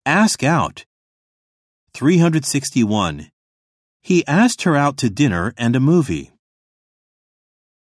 Ask out. 361. He asked her out to dinner and a movie.